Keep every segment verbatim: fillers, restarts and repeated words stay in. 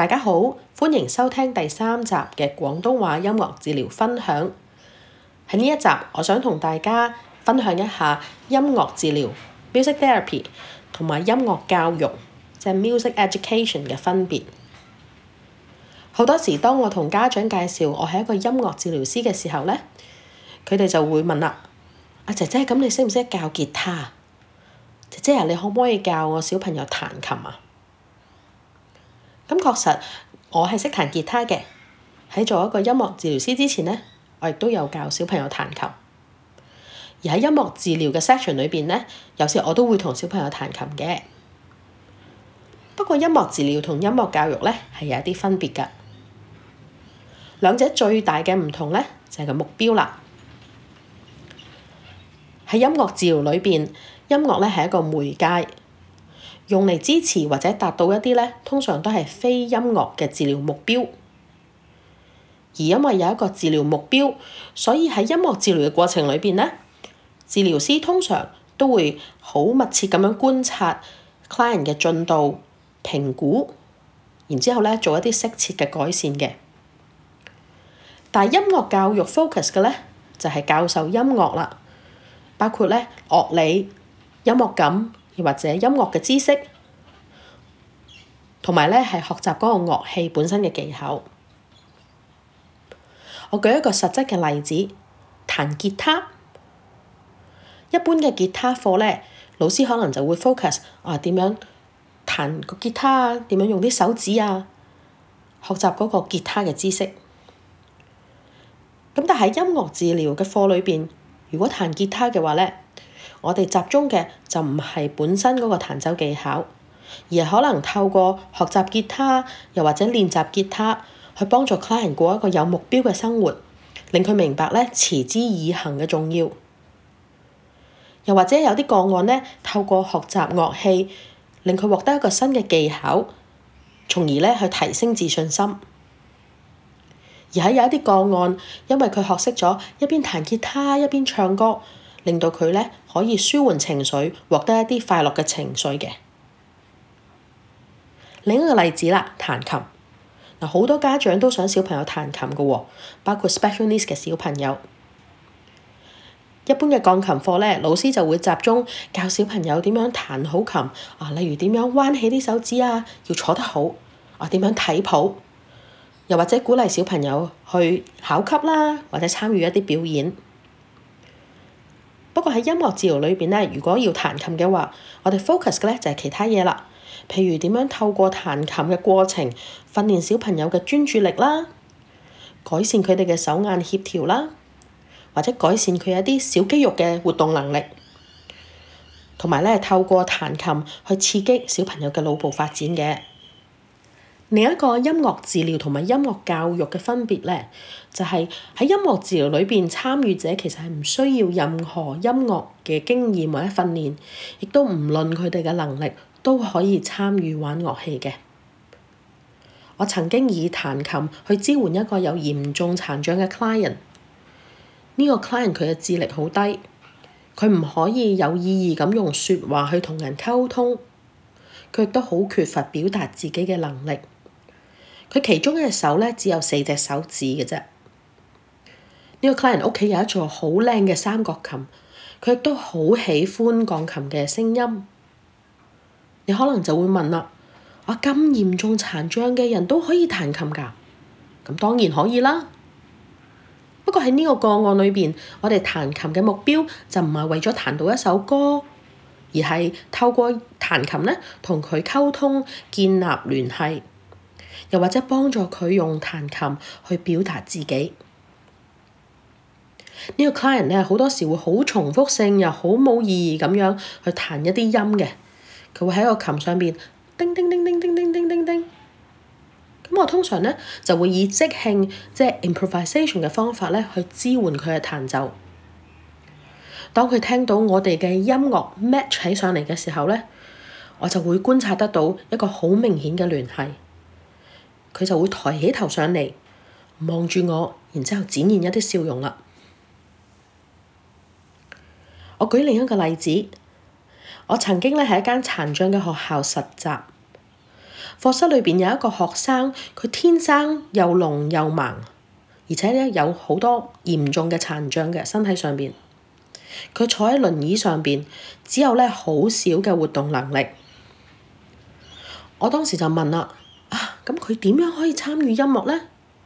大家好，歡迎收聽第三集嘅廣東話音樂治療分享。喺呢一集，我想同大家分享一下音樂治療 （music therapy） 同埋音樂教育即係 music education 嘅分別。好多時，當我同家長介紹我係一個音樂治療師嘅時候咧，佢哋就會問啦：阿姐姐，咁你識唔識教吉他？姐姐啊，你可唔可以教我小朋友彈琴啊？咁確實，我係識彈吉他嘅。喺做一個音樂治療師之前咧，我亦都有教小朋友彈琴。而喺音樂治療嘅 section 裏邊咧，有時我都會同小朋友彈琴嘅。不過音樂治療同音樂教育咧係有一啲分別㗎。兩者最大嘅唔同咧就係個目標啦。喺音樂治療裏邊，音樂咧係一個媒介，用嚟支持或者達到一啲咧，通常都係非音樂嘅治療目標。而因為有一個治療目標，所以喺音樂治療嘅過程裏邊咧，治療師通常都會好密切咁樣觀察 client 嘅進度、評估，然之後咧做一啲適切嘅改善嘅。但係音樂教育 focus 嘅咧就係教授音樂啦，包括咧樂理、音樂感，又或者音樂嘅知識，同埋咧係學習嗰個樂器本身嘅技巧。我舉一個實質嘅例子，彈吉他。一般嘅吉他課咧，老師可能就會 focus 啊點樣彈個吉他啊，點樣用啲手指啊，學習嗰個吉他嘅知識。咁但係音樂治療嘅課裏邊，如果彈吉他嘅話咧，我哋集中嘅就唔係本身嗰個彈奏技巧，而係可能透過學習吉他，又或者練習吉他，去幫助 client 過一個有目標嘅生活，令佢明白咧持之以恆嘅重要。又或者有啲個案咧，透過學習樂器，令佢獲得一個新嘅技巧，從而咧去提升自信心。而喺有一啲個案，因為佢學識咗一邊彈吉他一邊唱歌，令到佢咧可以舒緩情緒，獲得一啲快樂嘅情緒嘅。另一個例子啦，彈琴。嗱，好多家長都想小朋友彈琴嘅喎，包括 special needs 嘅小朋友。一般嘅鋼琴課咧，老師就會集中教小朋友點樣彈好琴啊，例如點樣彎起啲手指啊，要坐得好啊，點樣睇譜，又或者鼓勵小朋友去考級啦，或者參與一啲表演。不過喺音樂治療裏邊咧，如果要彈琴嘅話，我哋 focus 嘅咧就係其他嘢啦。譬如點樣透過彈琴嘅過程訓練小朋友嘅專注力啦，改善佢哋嘅手眼協調啦，或者改善佢一啲小肌肉嘅活動能力，同埋咧透過彈琴去刺激小朋友嘅腦部發展嘅。另一個音樂治療同埋音樂教育嘅分別咧，就係喺音樂治療裏邊，參與者其實係唔需要任何音樂嘅經驗或者訓練，亦都唔論佢哋嘅能力，都可以參與玩樂器嘅。我曾經以彈琴去支援一個有嚴重殘障嘅 client。呢個 client 佢嘅智力好低，佢唔可以有意義咁用説話去同人溝通，佢亦都好缺乏表達自己嘅能力。佢其中一隻手咧只有四隻手指嘅啫。呢個 client 屋企有一座好靚嘅三角琴，佢亦都好喜歡鋼琴嘅聲音。你可能就會問啦：啊，咁嚴重殘障嘅人都可以彈琴㗎？咁當然可以啦。不過喺呢個個案裏邊，我哋彈琴嘅目標就唔係為咗彈到一首歌，而係透過彈琴咧同佢溝通、建立聯繫，又或者幫助佢用彈琴去表達自己。呢個 client 咧好多時會好重複性又好冇意義咁樣去彈一啲音嘅，佢會喺個琴上邊叮叮叮叮叮叮叮叮叮。咁我通常咧就會以即興即係 improvisation 嘅方法咧去支援佢嘅彈奏。當佢聽到我哋嘅音樂 match 起上嚟嘅時候咧，我就會觀察得到一個好明顯嘅聯繫。佢就會抬起頭上嚟望住我，然之後展現一啲笑容啦。我舉另一個例子，我曾經咧喺一間殘障嘅學校實習。 課室裏邊有一個學生，佢天生又聾又盲，而且咧有好多嚴重嘅殘障嘅身體上邊。佢坐喺輪椅上邊，只有咧好少嘅活動能力。我當時就問啦，啊，咁佢點樣可以參與音樂咧？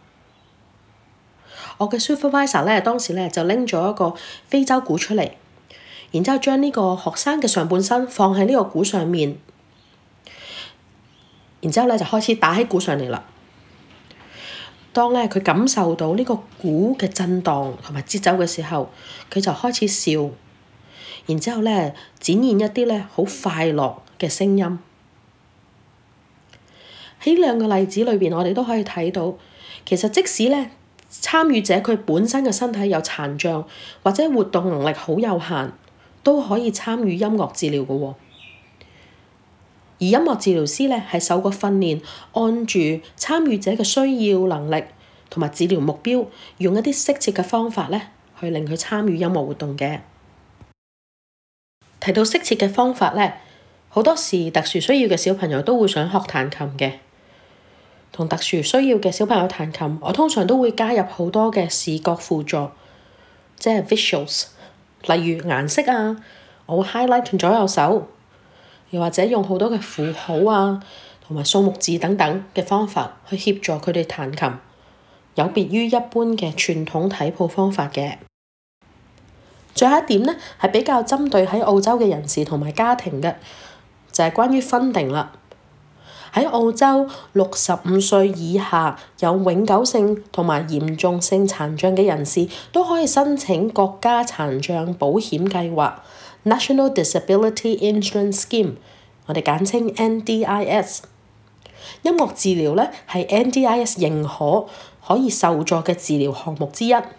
我嘅 supervisor 咧當時咧就拎咗一個非洲鼓出嚟，然之後將呢個學生嘅上半身放喺呢個鼓上面，然之後咧就開始打喺鼓上嚟啦。當咧佢感受到呢個鼓嘅震盪同埋節奏嘅時候，佢就開始笑，然之後咧展現一啲咧好快樂嘅聲音。喺兩個例子裏邊，我哋都可以睇到，其實即使咧參與者佢本身嘅身體有殘障或者活動能力好有限，都可以參與音樂治療嘅喎。而音樂治療師咧係受過訓練，按住參與者嘅需要、能力同埋治療目標，用一啲適切嘅方法咧去令佢參與音樂活動嘅。提到適切嘅方法咧，好多時特殊需要嘅小朋友都會想學彈琴嘅。同特殊需要嘅小朋友彈琴，我通常都會加入好多嘅視覺輔助，即係 visuals， 例如顏色啊，我會 highlight 左右手，又或者用好多嘅符號啊，同埋數目字等等嘅方法去協助佢哋彈琴，有別於一般嘅傳統睇譜方法嘅。最後一點呢，係比較針對喺澳洲嘅人士同埋家庭嘅，就係關於 funding 啦。喺澳洲，六十五歲以下有永久性同埋嚴重性殘障嘅人士都可以申請國家殘障保險計劃 （National Disability Insurance Scheme）， 我哋簡稱 N D I S。音樂治療咧係 N D I S 認可可以受助嘅治療項目之一。嗱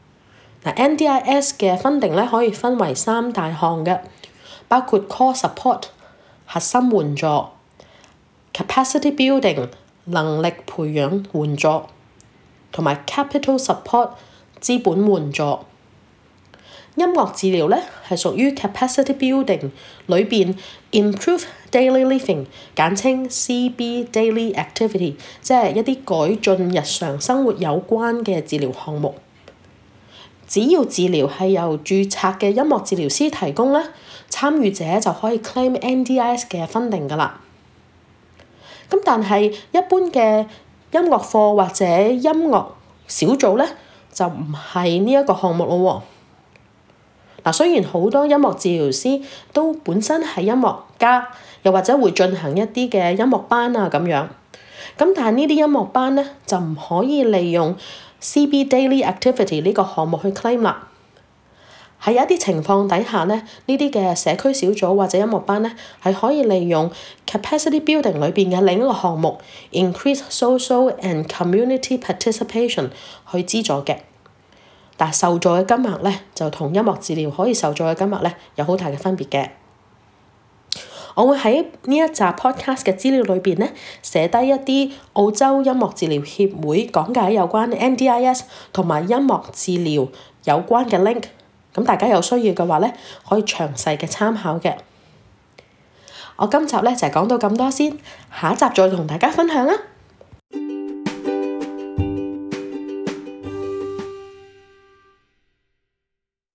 ，N D I S 嘅 funding 咧可以分為三大項嘅，包括 core support 核心援助、capacity building 能力培養援助，同埋 capital support 資本援助。音樂治療咧係屬於 capacity building 裏邊 improve daily living， 簡稱 C B daily activity， 即係一啲改進日常生活有關嘅治療項目。只要治療係由註冊嘅音樂治療師提供咧，參與者就可以 claim N D I S 嘅 funding 㗎啦。咁但係一般嘅音樂課或者音樂小組咧，就唔係呢一個項目咯喎。嗱，雖然好多音樂治療師都本身係音樂家，又或者會進行一啲嘅音樂班啊咁樣，咁但係呢啲音樂班咧就唔可以利用 C B Daily Activity 呢個項目去 claim 啦。喺一啲情況底下咧，呢啲嘅社區小組或者音樂班咧，係可以利用 capacity building 裏邊嘅另一個項目 increase social and community participation 去資助嘅。但係受助嘅金額咧，就同音樂治療可以受助嘅金額咧有好大嘅分別嘅。我會喺呢一集 podcast 嘅資料裏邊咧寫低一啲澳洲音樂治療協會講解有關 N D I S 同埋音樂治療有關嘅 link。咁大家有需要嘅話咧，可以詳細嘅參考嘅。我今集咧就係講到咁多先，下一集再同大家分享啦。